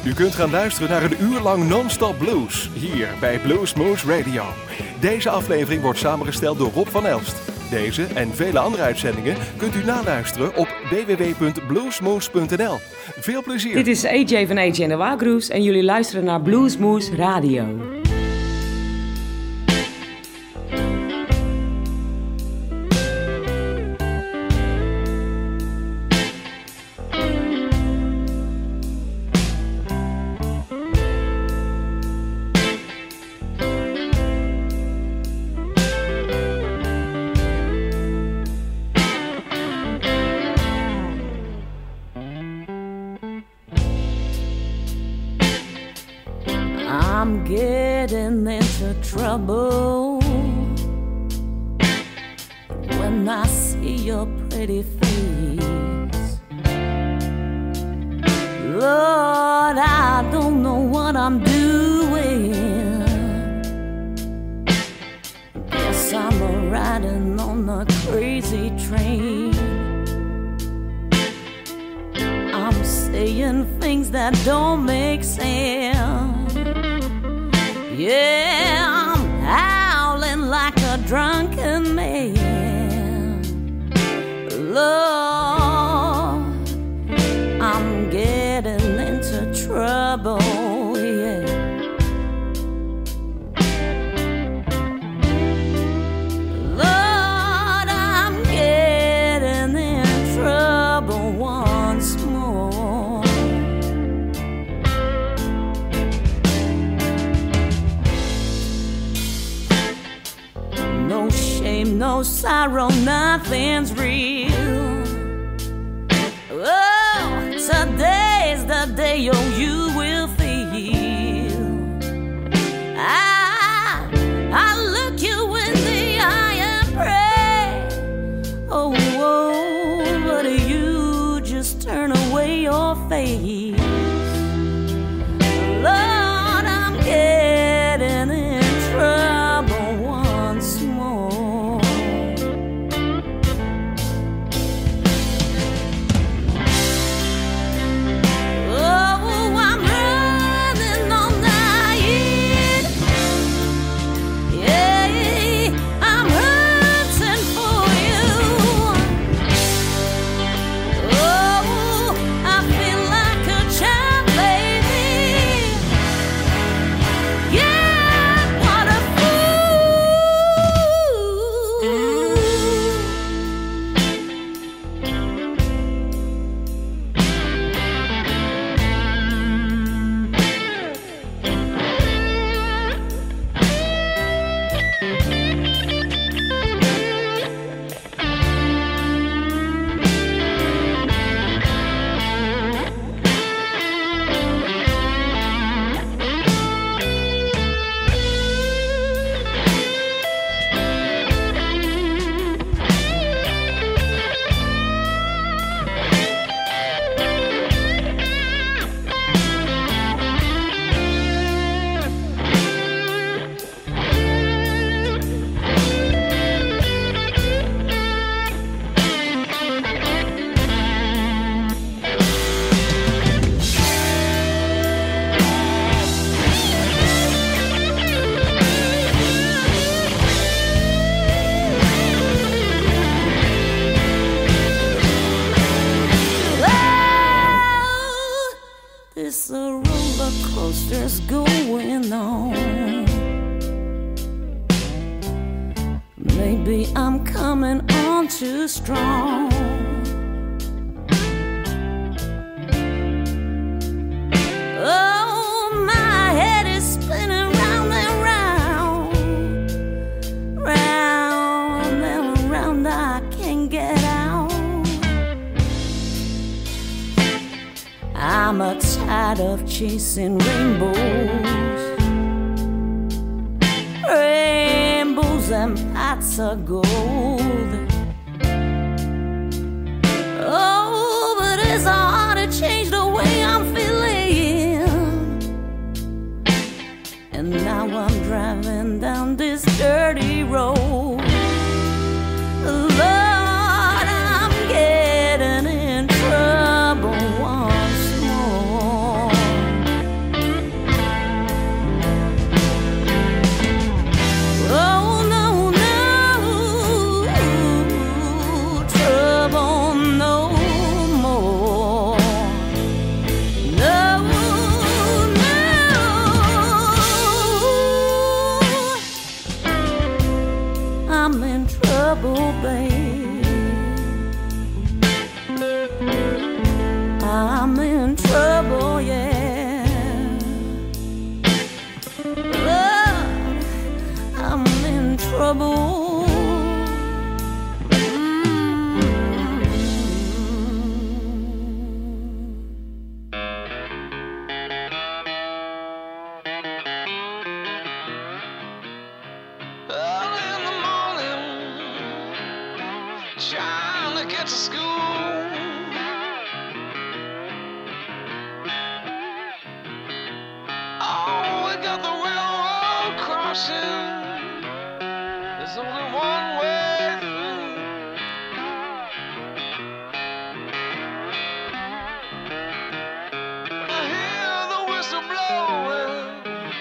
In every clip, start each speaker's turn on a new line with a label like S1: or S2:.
S1: U kunt gaan luisteren naar een uur lang non-stop blues, hier bij Bluesmoose Radio. Deze aflevering wordt samengesteld door Rob van Elst. Deze en vele andere uitzendingen kunt u naluisteren op www.bluesmoose.nl. Veel plezier!
S2: Dit is AJ van AJ en de Wagroes en jullie luisteren naar Bluesmoose Radio.
S3: I'm getting into trouble when I see your pretty face. Lord, I don't know what I'm doing. Guess I'm riding on a crazy train. I'm saying things that don't make sense. Yeah, I'm howling like a drunken man. Lord, I'm getting into trouble, yeah. Lord, I'm getting in trouble once more. No shame, no sorrow, nothing's real. Oh, today's the day you will feel. I look you in the eye and pray. Oh, but you just turn away your face. Lord, I'm getting in trouble once more. Oh, I'm running all night. Yeah, I'm hurting for you. Oh, I feel like a child, baby. Yeah, what a this a roller coaster's going on. Maybe I'm coming on too strong. Oh, my head is spinning round and round, round and round. I can't get out. I'm tired of chasing rainbows, rainbows and pots of gold. Oh, but it's hard to change the way I'm feeling. And now I'm driving down this dirty road. Lord, I'm getting in trouble once more.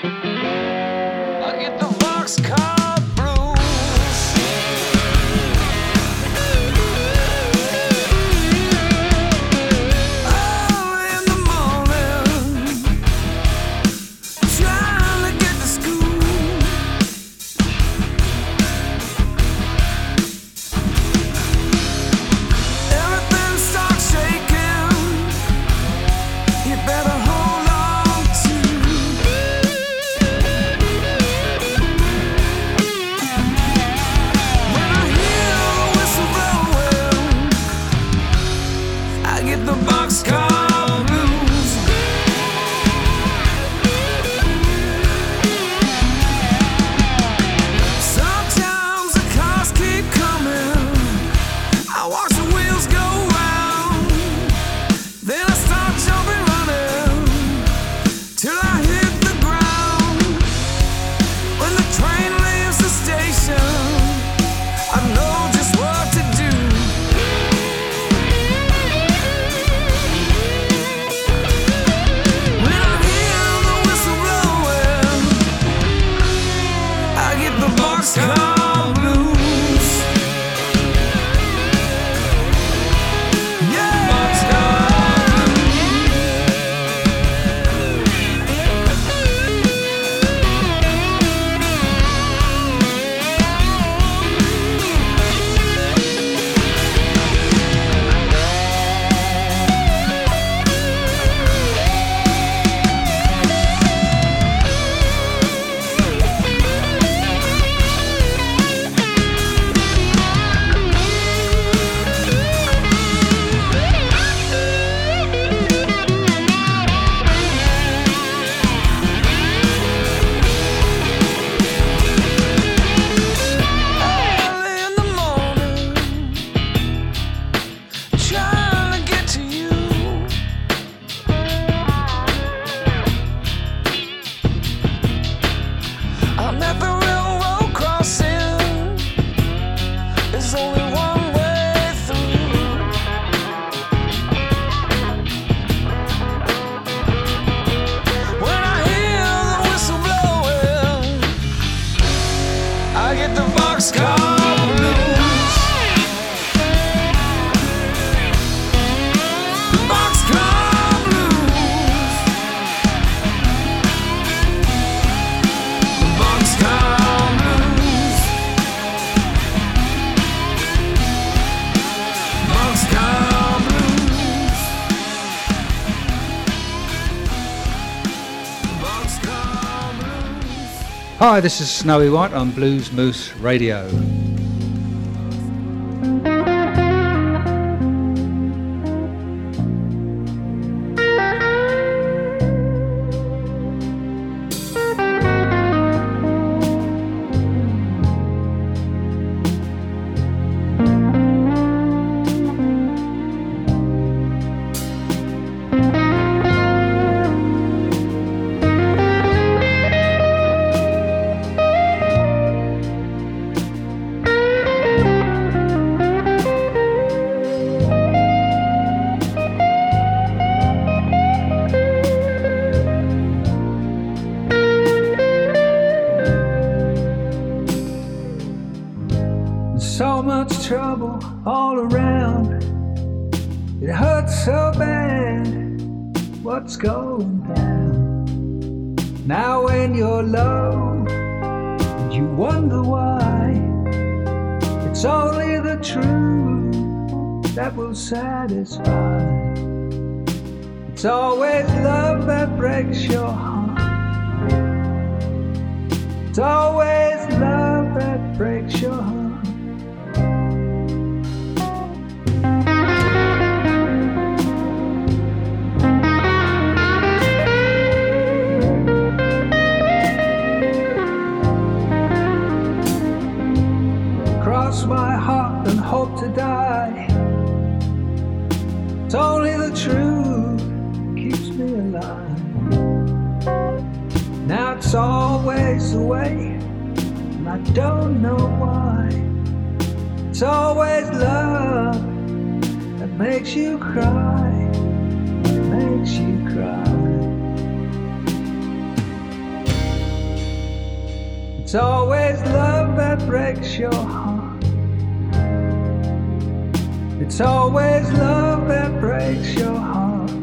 S4: Hi, this is Snowy White on Blues Moose Radio.
S5: Trouble all around, it hurts so bad. What's going down? Now when you're low and you wonder why, it's only the truth that will satisfy. It's always love that breaks your heart. It's always love that breaks your heart. My heart and hope to die. It's only the truth keeps me alive. Now it's always the way, and I don't know why. It's always love that makes you cry, makes you cry. It's always love that breaks your heart. It's always love that breaks your heart.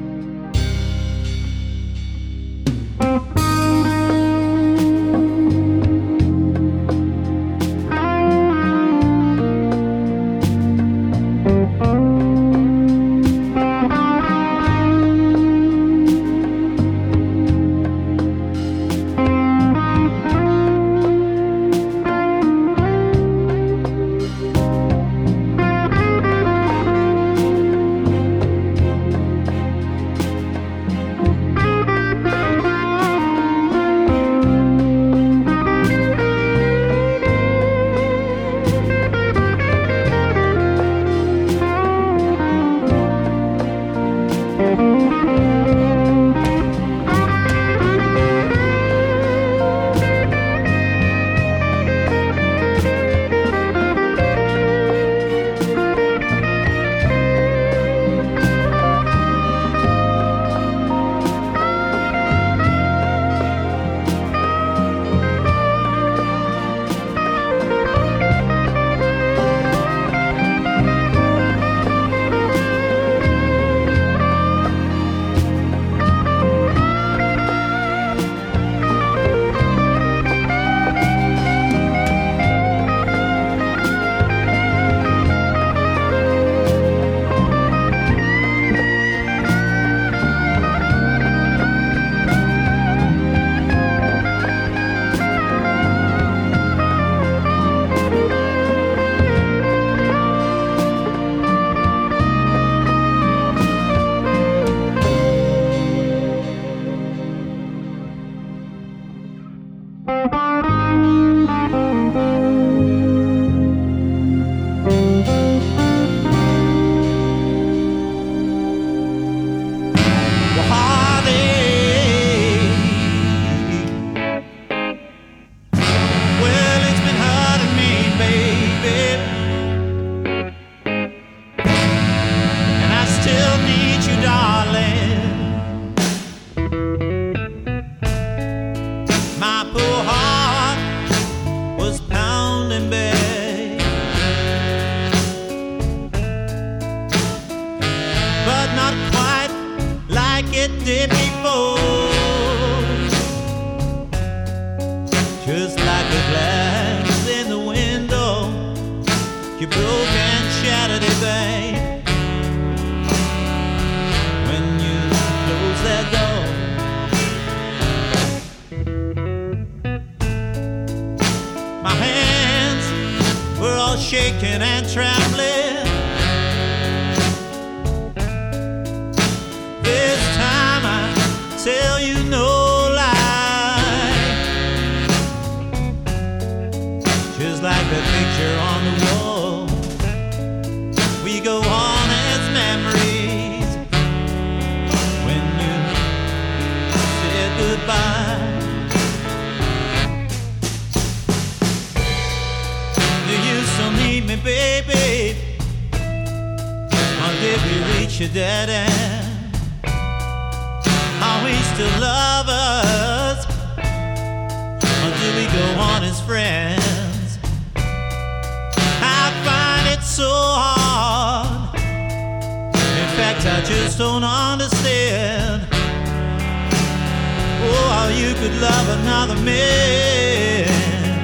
S6: Shaking and trembling. This time I tell you no lie. Just like the picture on the wall, we go on as memories. When you said goodbye, need me, baby, or did we reach a dead end? Are we still lovers, or do we go on as friends? I find it so hard. In fact, I just don't understand. Oh, how you could love another man.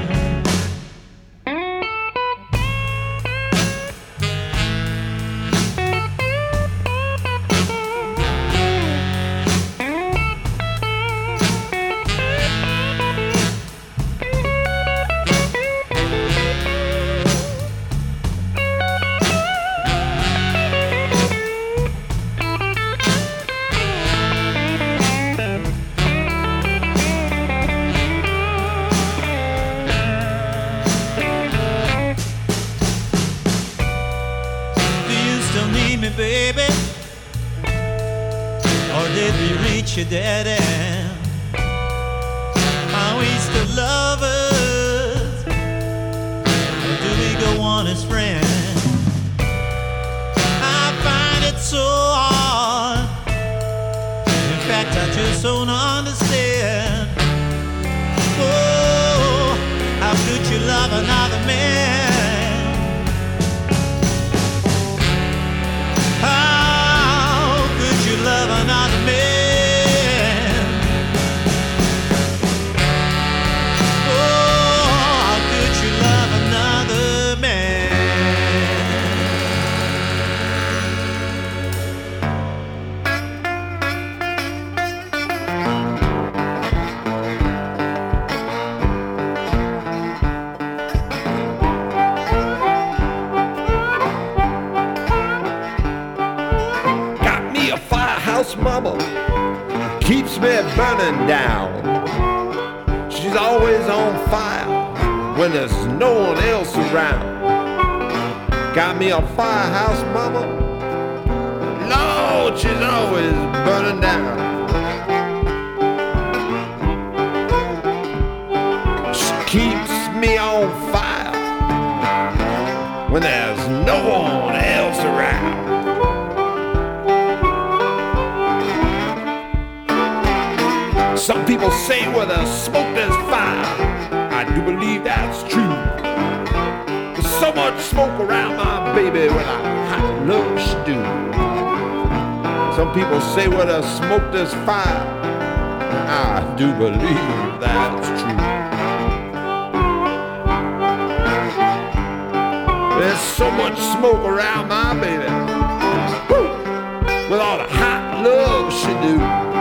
S6: Baby, or did we reach a dead end? Are we still lovers, or do we go on as friends? I find it so hard. In fact, I just don't understand. Oh,
S7: firehouse mama keeps me burning down. She's always on fire when there's no one else around. Got me a firehouse mama, Lord, she's always burning down. She keeps me on fire when there's no one else around. Some people say where there's smoke there's fire. I do believe that's true. There's so much smoke around my baby when I hot love she do. Some people say where there's smoke there's fire. I do believe that's true. There's so much smoke around my baby. Woo! With all the hot love she do.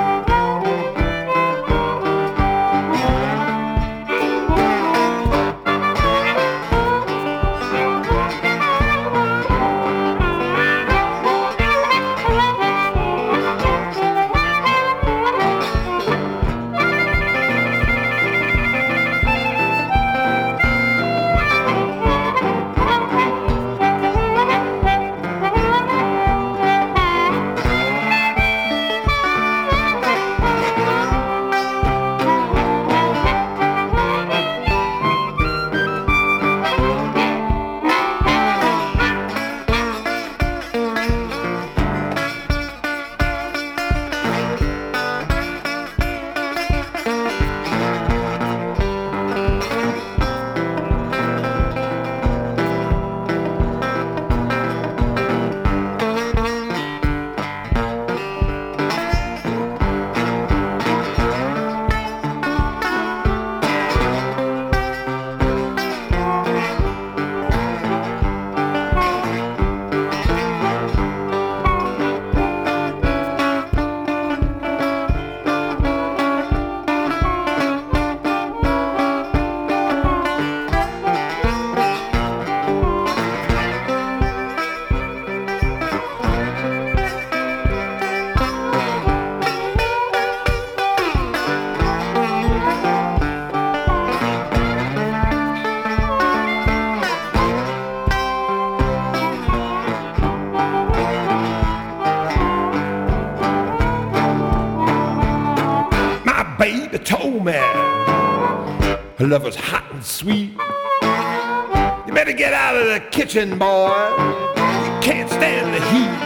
S7: Her love was hot and sweet. You better get out of the kitchen, boy. You can't stand the heat.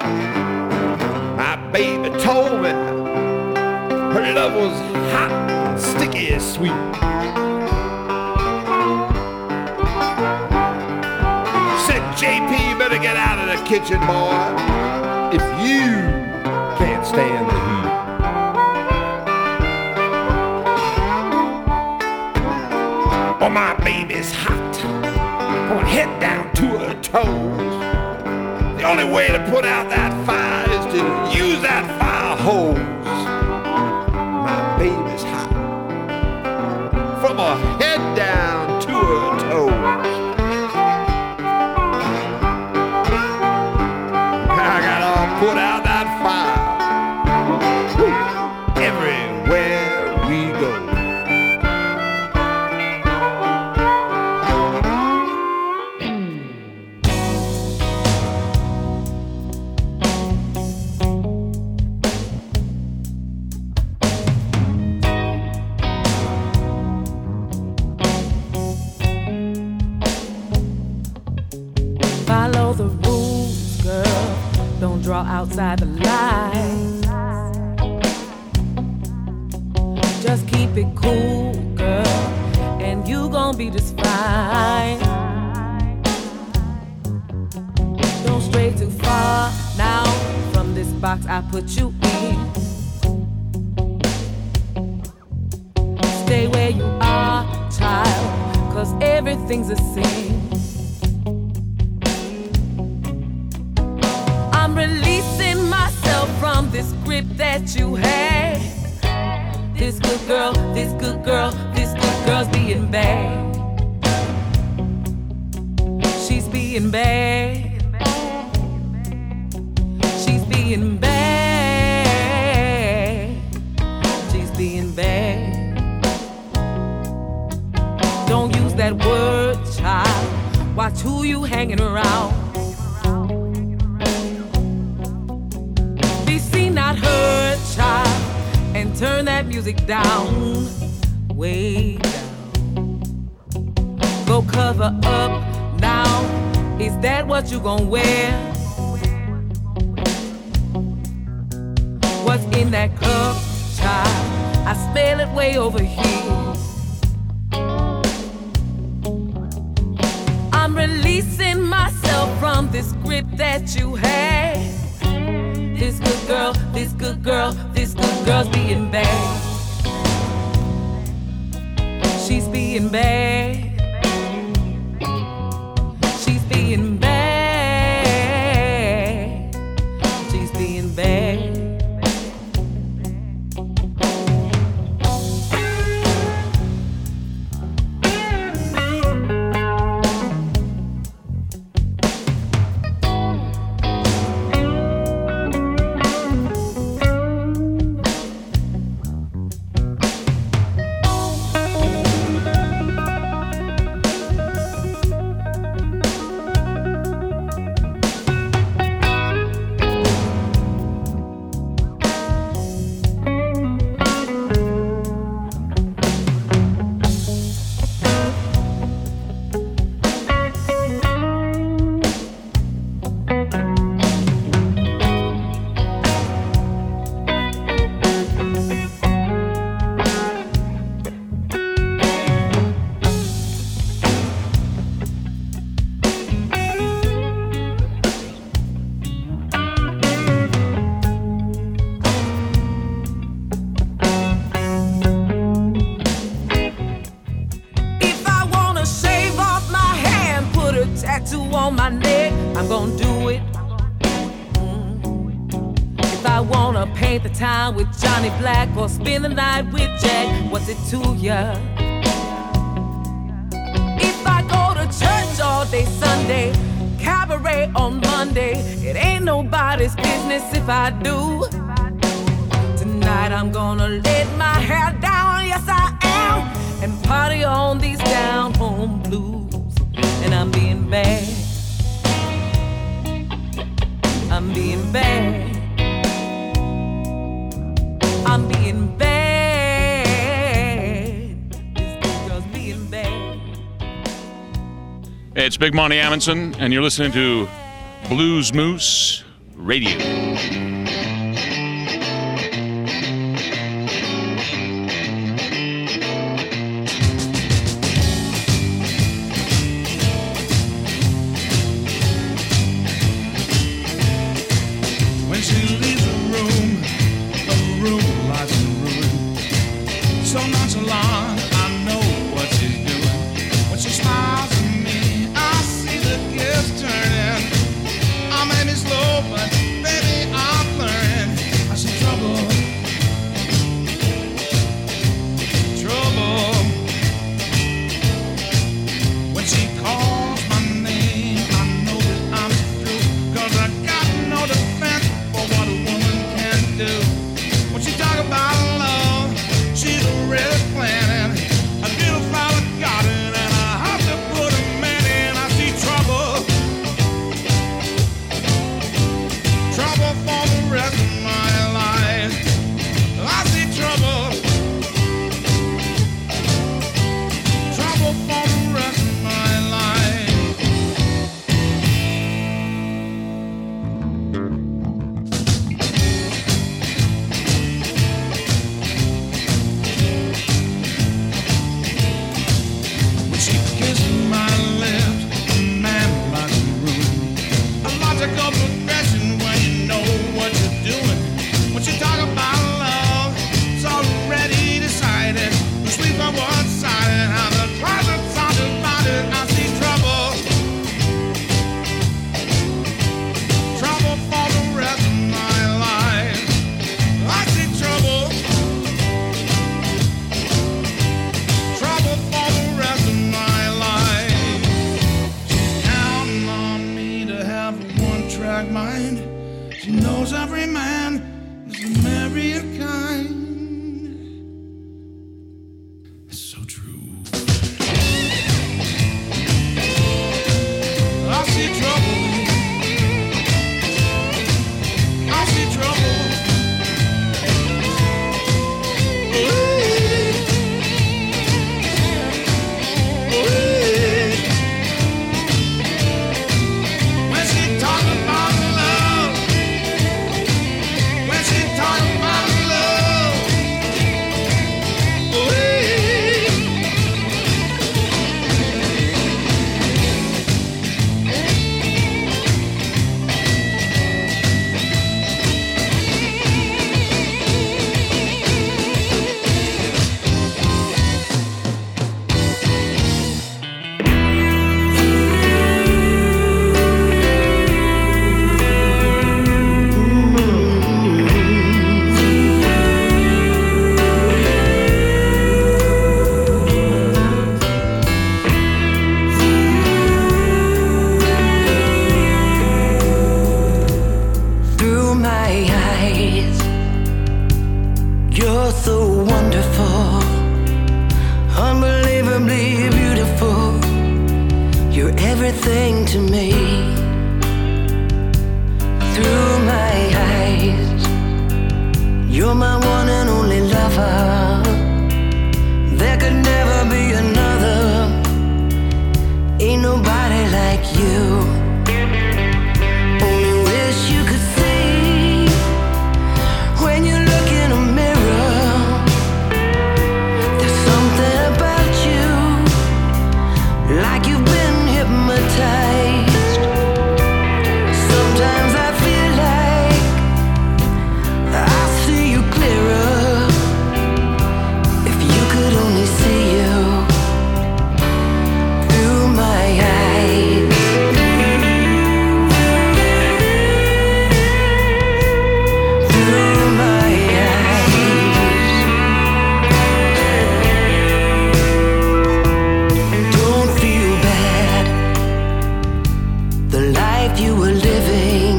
S7: My baby told me her love was hot and sticky and sweet. She said, JP, you better get out of the kitchen, boy, if you can't stand the heat. Oh, my baby's hot from her head down to her toes. The only way to put out that fire is to use that fire hose. My baby's hot from her head down to her toes. I gotta put out that fire. Woo. Everywhere we go.
S8: Outside the line, just keep it cool, girl, and you gon' be just fine. Don't stray too far now from this box I put you in. Stay where you are, child, 'cause everything's a sin. I'm releasing myself from this grip that you had. This good girl, this good girl, this good girl's being bad. She's being bad. She's being bad. that word, child. Watch who you hanging around. Be seen, not heard, child, and turn that music down, way down. Go cover up now. Is that what you gon' wear? What's in that cup, child? I smell it way over here. I'm releasing myself from this grip that you had. This good girl, this good girl, this good girl's being bad. She's being bad. She's being bad. She's being bad. On my neck, I'm gonna do it. If I wanna paint the town with Johnny Black or spend the night with Jack, what's it to ya? If I go to church all day Sunday, cabaret on Monday, it ain't nobody's business if I do. Tonight I'm gonna let my hair down, yes I am, and party on these down home blues. And I'm being bad. I'm being bad. I'm being bad. This girl's being bad.
S9: Hey, it's Big Monty Amundsen, and you're listening to Blues Moose Radio.
S10: You're so wonderful, unbelievably beautiful. You're everything to me. Through my eyes, you're my one and only lover. There could never be another. Ain't nobody like you. Only wish you could see when you look in a mirror. There's something about you, like you've been hypnotized. Sometimes I feel like I see you clearer. If you could only see you through my eyes. Through my eyes. Don't feel bad. The life you were living,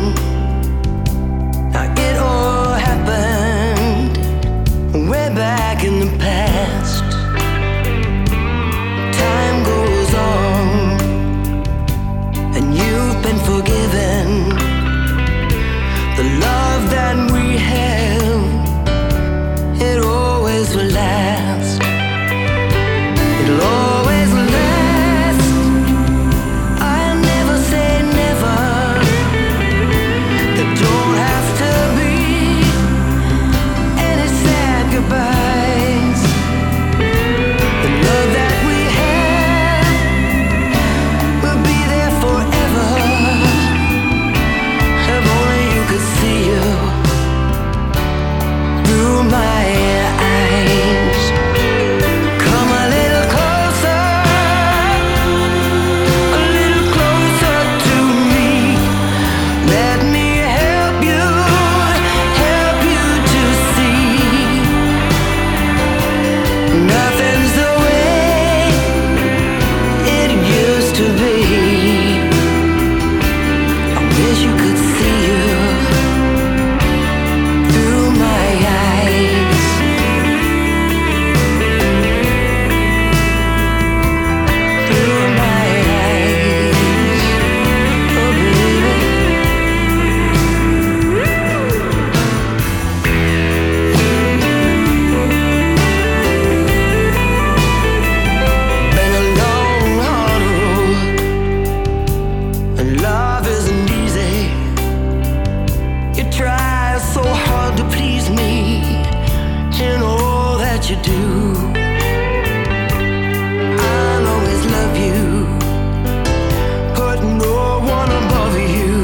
S10: it all happened way back in the past. Time goes on, and you've been forgiven. The love that we have, it always will last. It'll always last. I'll never say never. There don't have to be any sad goodbyes. The love that we have will be there forever. If only you could see you through my eyes. Come a little closer to me. Let me help you to see. Nothing's the way it used to be. I wish you could see you through my eyes. Through my eyes. Oh baby. Been a long, hard road, and love isn't easy. You try so hard to please me in all that you do. I'll always love you, put no one above you.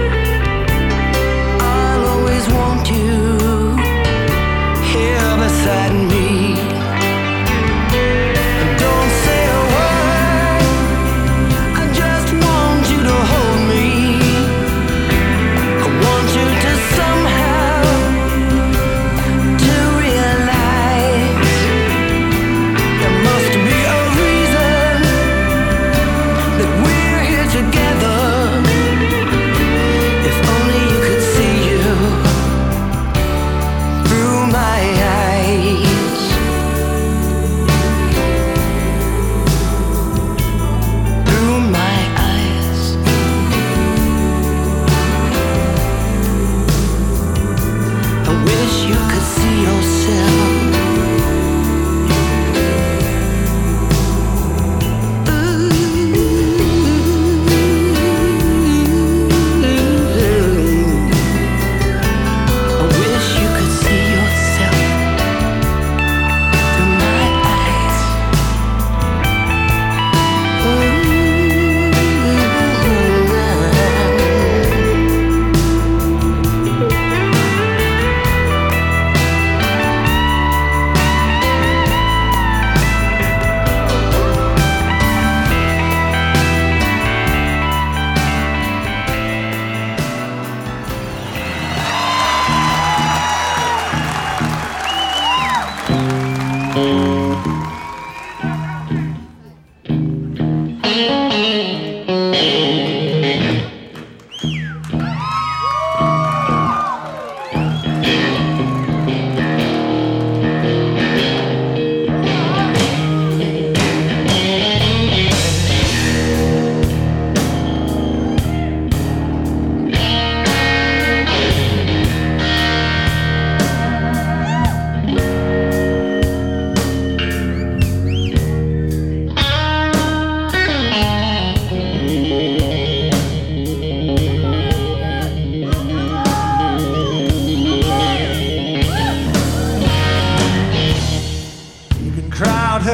S10: I'll always want you here beside me. Don't say a word, I just want you to hold me. I want you to somehow to realize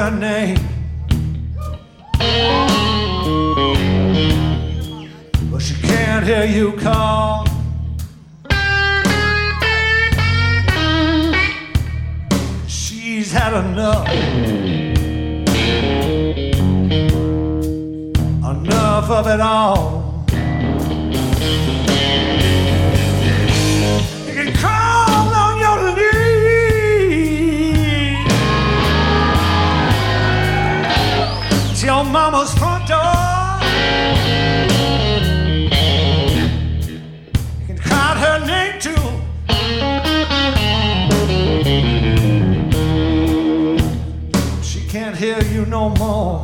S5: her name, but she can't hear you call. She's had enough, enough of it all. You can crawl on your knees to your mama's front door. You can call her name too. She can't hear you no more.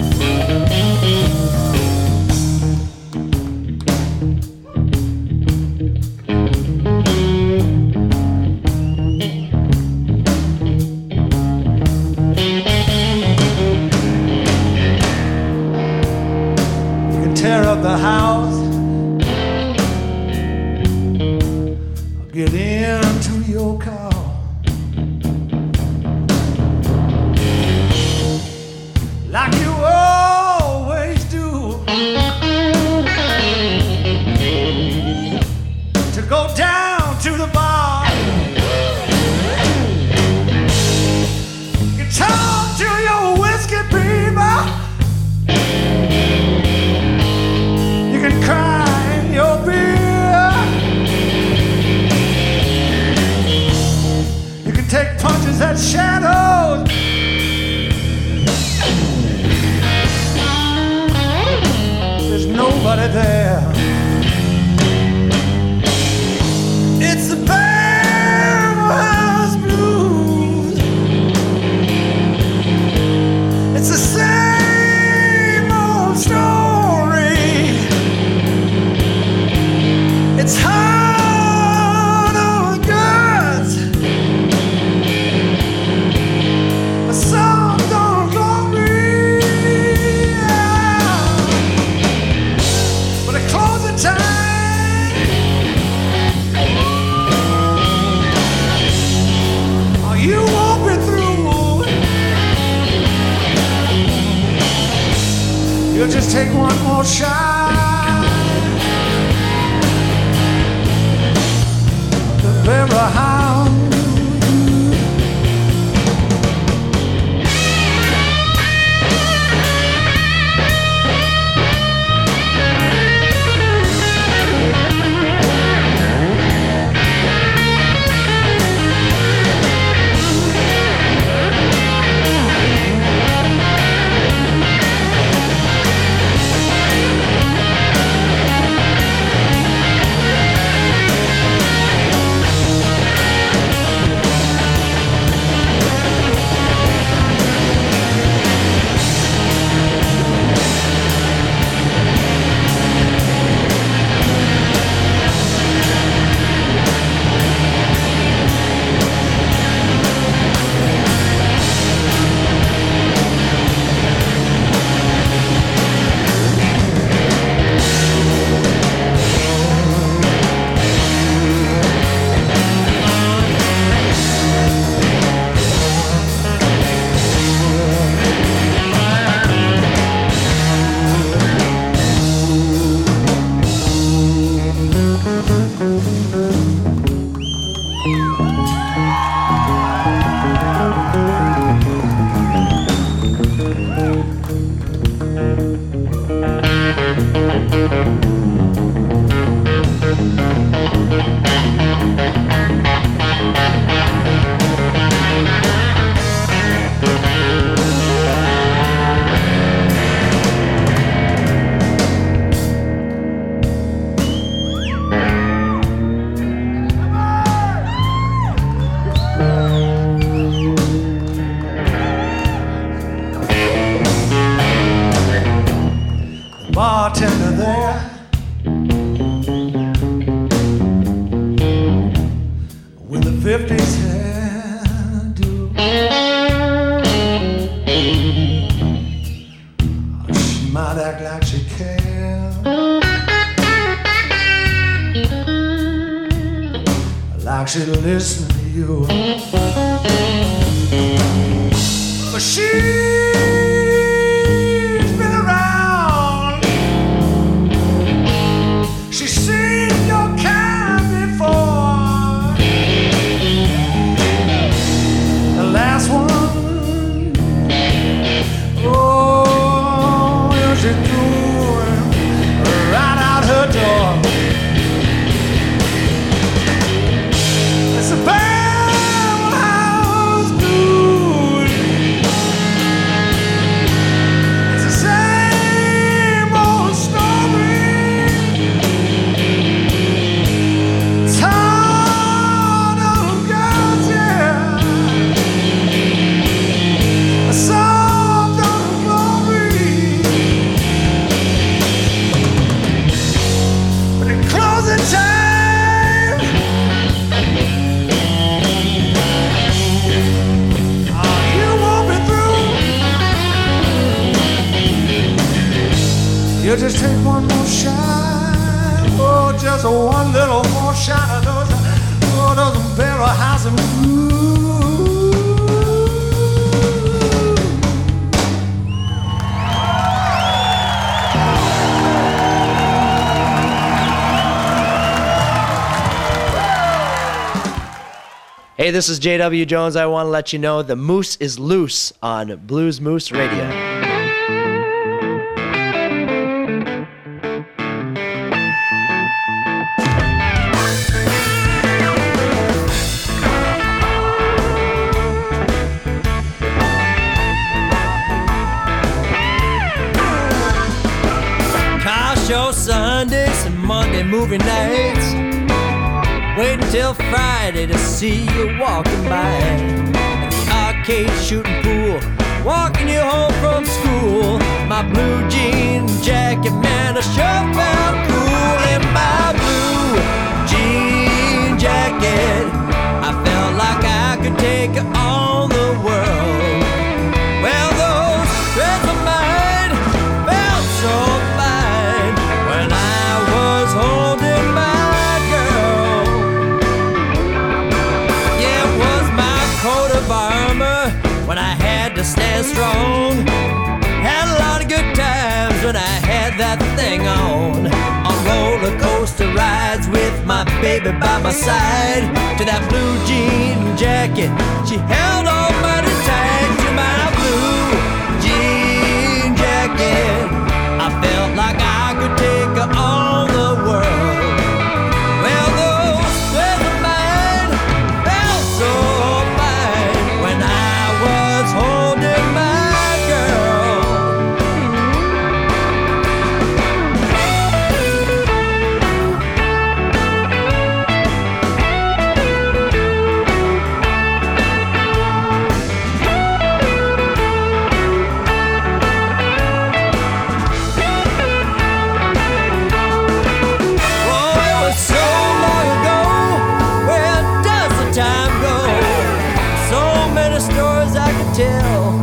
S5: Tear up the house, get into your car. Like you always do, to go down to the bar. You talk to your whiskey people. You can cry in your beer. You can take punches at shadows. There's nobody there. It's the Barrelhouse Blues. It's the same old story. It's hard on guts, but some don't glory. But at closing time, oh, you won't be through. You'll just take one more shot. Barrelhouse. Bartender there, with a 50s hairdo. She might act like she cares, like she listen to you, but
S11: Well, she's been around. She's seen your kind before. The last one, oh, yeah, she threw him right out her door. It's a bad house dude. It's the same old story. Town of girls, yeah. A soft of glory. But at closing time, you just take one more shot, oh, just one little more shot of those barrel house and
S12: Hey, this is J.W. Jones. I want to let you know the moose is loose on Blues Moose Radio.
S6: Car show Sundays and Monday movie nights. Wait until Friday to see you walking by. At the arcade shooting pool, walking you home from school. My blue jean jacket, man, I sure felt cool in my blue jean jacket. I felt like I could take on the world. Well, those threads of mine felt so fine when I was holding my girl. Yeah, it was my coat of armor when I had to stand strong. Had a lot of good times when I had that thing on roller coaster rides with my baby by my side. To that blue jean jacket, she held on mighty tight. To my blue jean jacket, I felt like I could take her on the world. Well, those threads of mine felt so fine when I was holding my girl. Tell.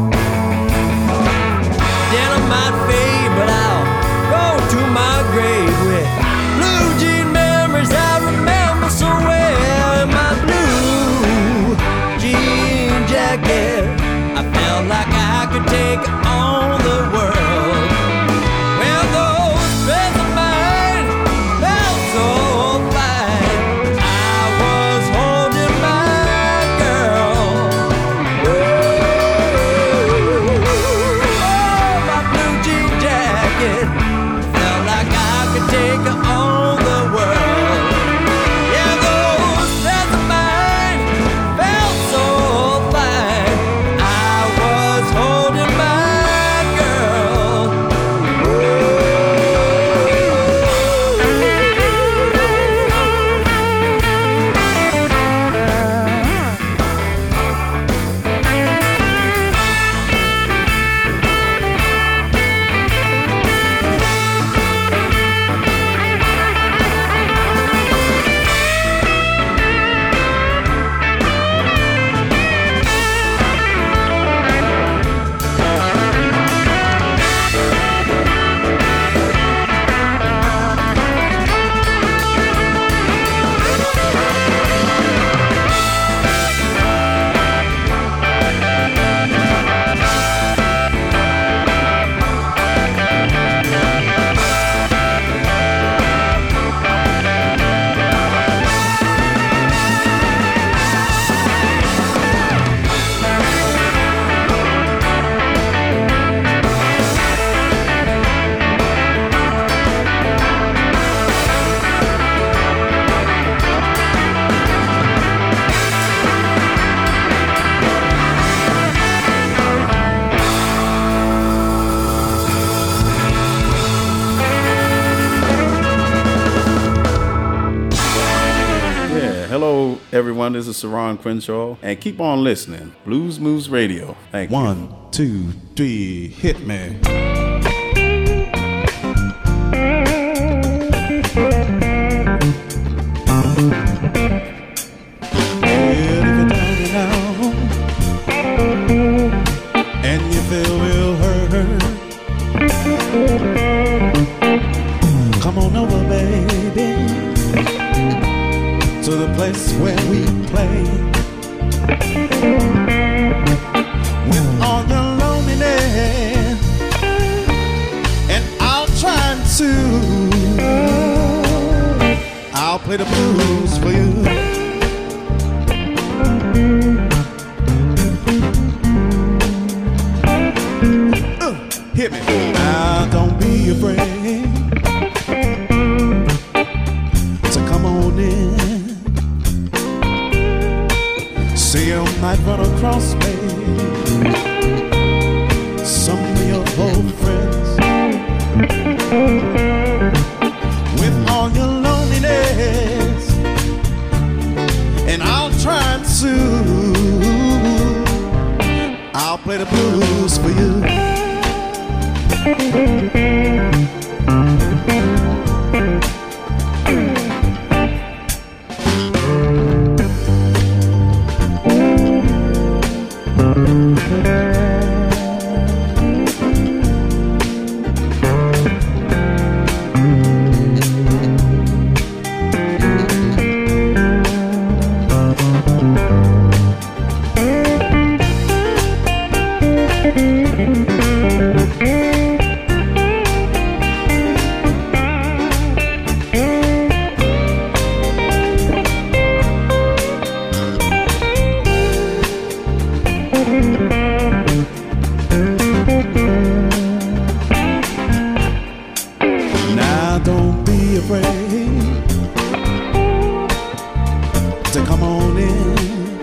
S6: Dynamite fade, but I'll go to my grave with blue jean memories I remember so well. In my blue jean jacket, I felt like I could take on the world. Well, those threads of mine felt so fine. I was holding my girl. Woo!
S13: Yeah, hello everyone, this is Saron Crenshaw, and keep on listening. Blues Moose Radio. Thank you.
S14: 1, 2, 3, hit me. And you feel real hurt, come on over, baby, to the place where we play. With all your loneliness, and I'll try I'll play the blues for you. Hit me. Now don't be afraid to come on in. See, I might run across me some of your old friends. With all your loneliness, and I'll try I'll play the blues for you. Now don't be afraid to come on in.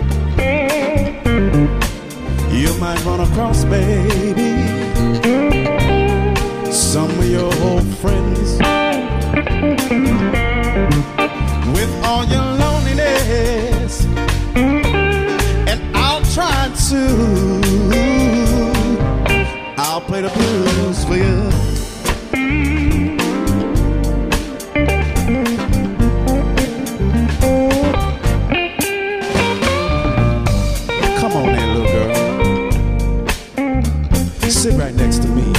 S14: You might run across, baby, some of your old friends. With all your loneliness, and I'll try I'll play the blues for you. Come on in, little girl. Sit right next to me.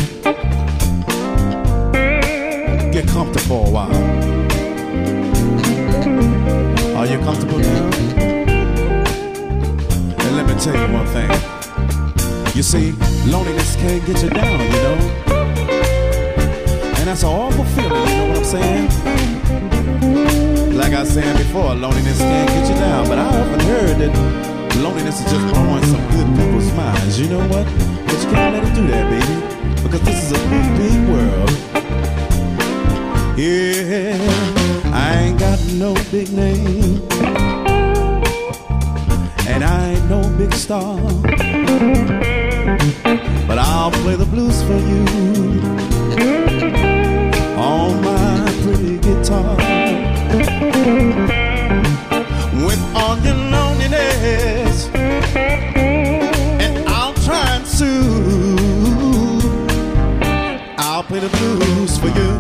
S14: Get comfortable a while. Are you comfortable now? And let me tell you one thing. You see, loneliness can't get you down, you know. And that's an awful feeling, you know what I'm saying? Like I was saying before, loneliness can't get you down. But I often heard that loneliness is just blowing some good people's minds. You know what? But you can't let it do that, baby. Because this is a big, big world. Yeah, I ain't got no big name, and I ain't no big star, but I'll play the blues for you on my pretty guitar. With all your loneliness, and I'll try I'll play the blues for you.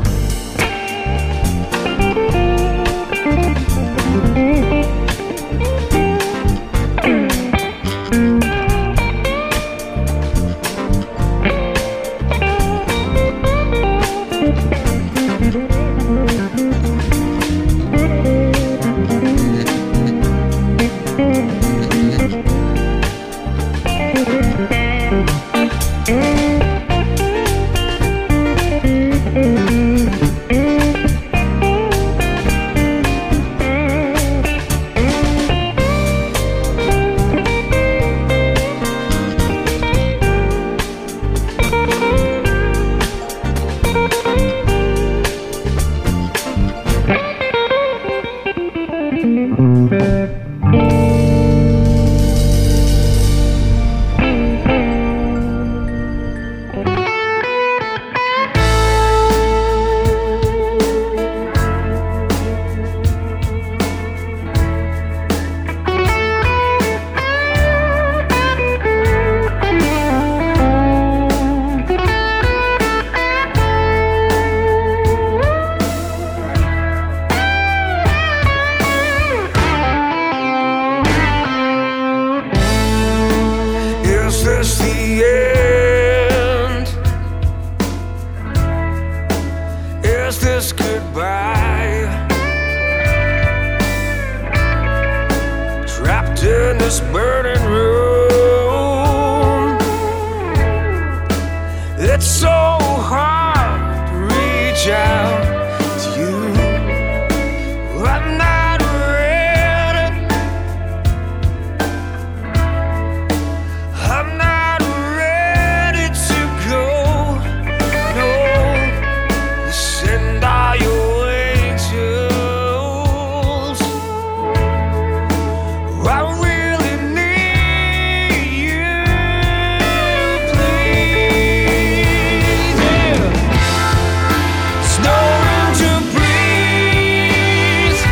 S15: in this burning room. It's so hard to reach out to you. I'm not ready. I'm not ready to go. No, send all your angels. I really need you, please. Yeah. There's no room to breathe.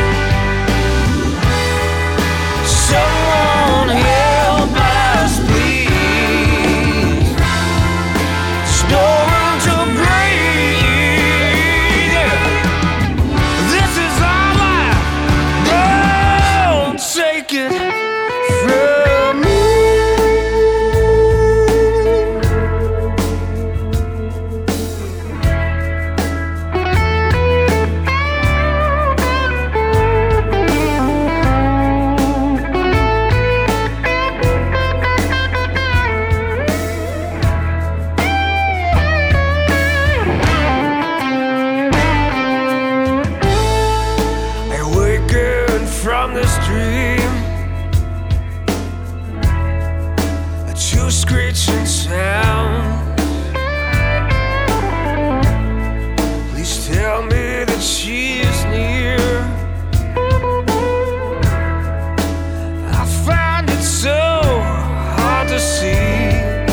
S15: Someone help us, please. There's no room to breathe. Yeah. This is our life. Don't take it from me. Awaken from this dream to screeching sound. Please tell me that she is near. I find it so hard to see.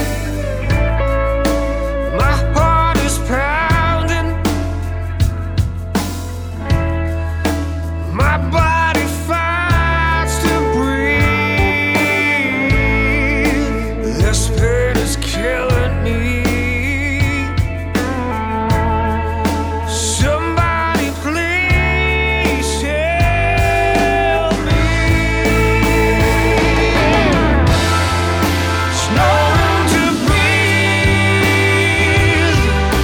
S15: My heart is pounding. My body fights to breathe. This pain is killing me. Somebody please help me. There's no room to breathe.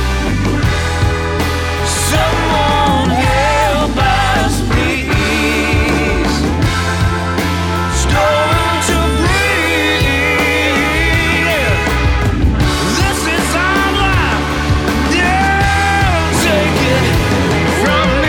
S15: Someone help us, please. There's no room to breathe. This is our life. Don't take it from me.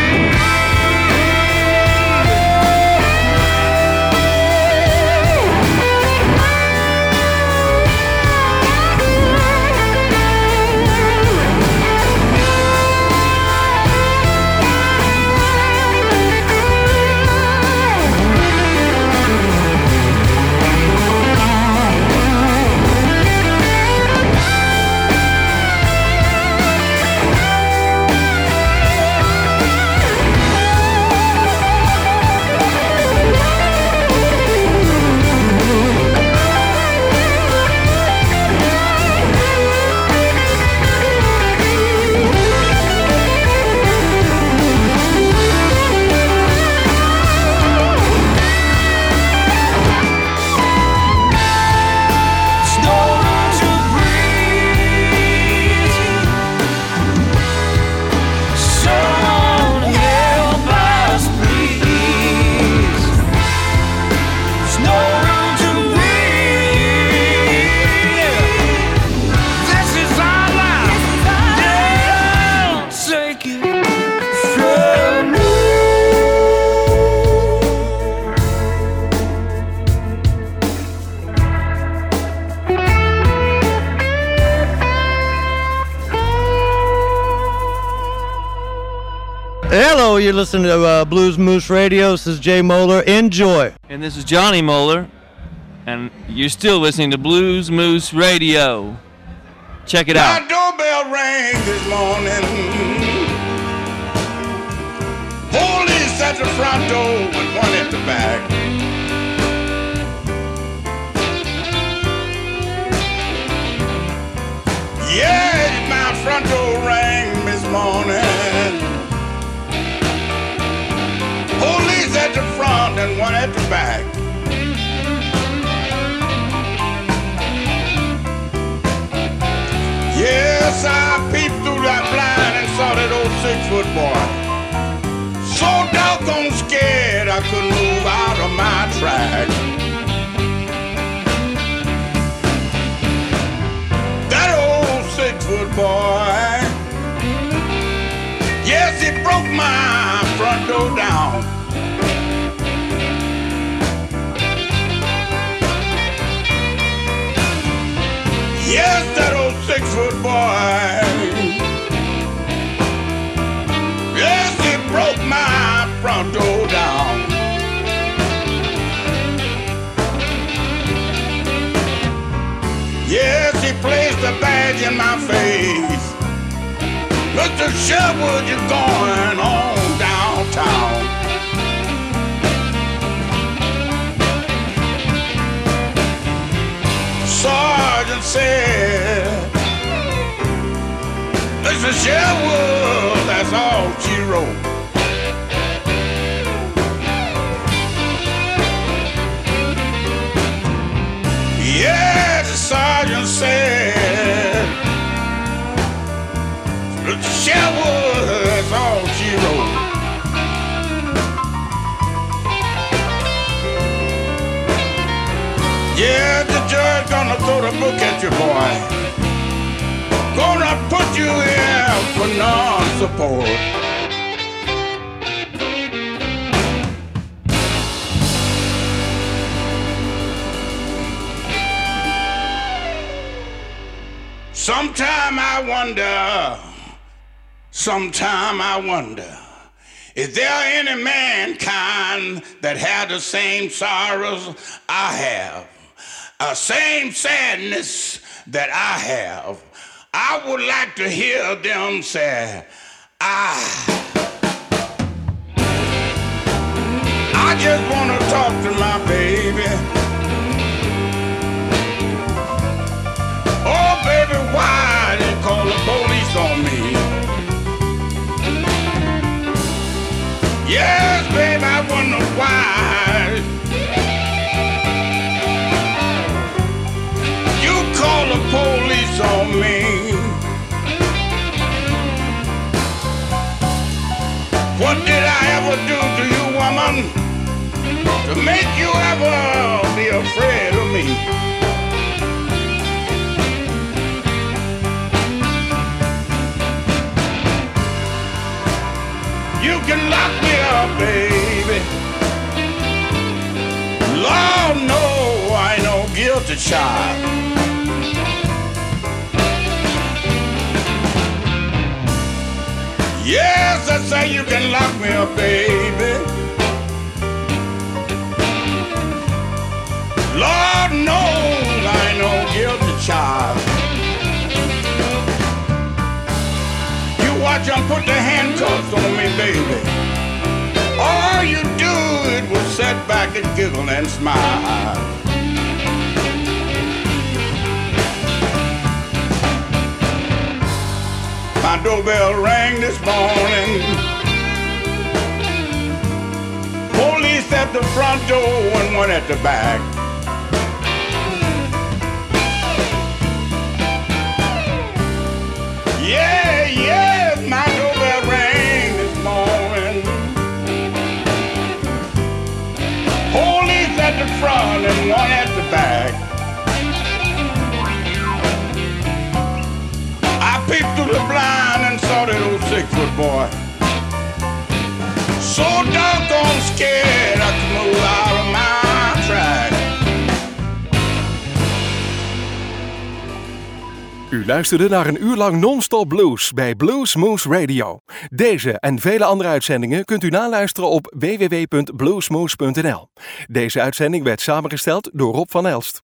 S15: There's no room to breathe. Someone help us, please. There's no room to breathe. This is our life. Don't take it from me.
S12: Hello, you're listening to Blues Moose Radio. This is Jay Moeller. Enjoy.
S16: And this is Johnny Moeller, and you're still listening to Blues Moose Radio. Check it out.
S17: My doorbell rang this morning. Police at the front door and one at the back. Yeah, my front door rang this morning. Police at the front and one at the back. Yes, I peeped through that blind and saw that old 6-foot boy. So doggone scared I couldn't move out of my track. the badge in my face. Mr. Sherwood, you're going on downtown. Sergeant said, Mr. Sherwood, that's all she wrote. Yeah, the sergeant said, Mr. Sherwood, that's all she wrote. Yeah, the judge gonna throw the book at you, boy. Gonna put you in for non-support. Sometime I wonder, is there any mankind that had the same sorrows I have? Same sadness that I have. I would like to hear them say, I just want to talk to my baby. Oh, baby, why they call the police on me? Yes, baby, I wonder why you call the police on me. What did I ever do to you, woman, to make you ever be afraid of me? You can lock me up, baby. Lord, no, I ain't no guilty child. Yes, I say you can lock me up, baby. Lord knows I ain't no guilty child. You watch them put the handcuffs on me, baby. All you do it was sit back and giggle and smile. My doorbell rang this morning. Police at the front door and one at the back. Yeah, my doorbell rang this morning. Police at the front and one at the back. I peeped through the blind and saw that old 6-foot boy. So doggone scared I could move out of my track.
S1: U luisterde naar een uur lang non-stop blues bij Blues Moose Radio. Deze en vele andere uitzendingen kunt u naluisteren op www.bluesmoose.nl. Deze uitzending werd samengesteld door Rob van Elst.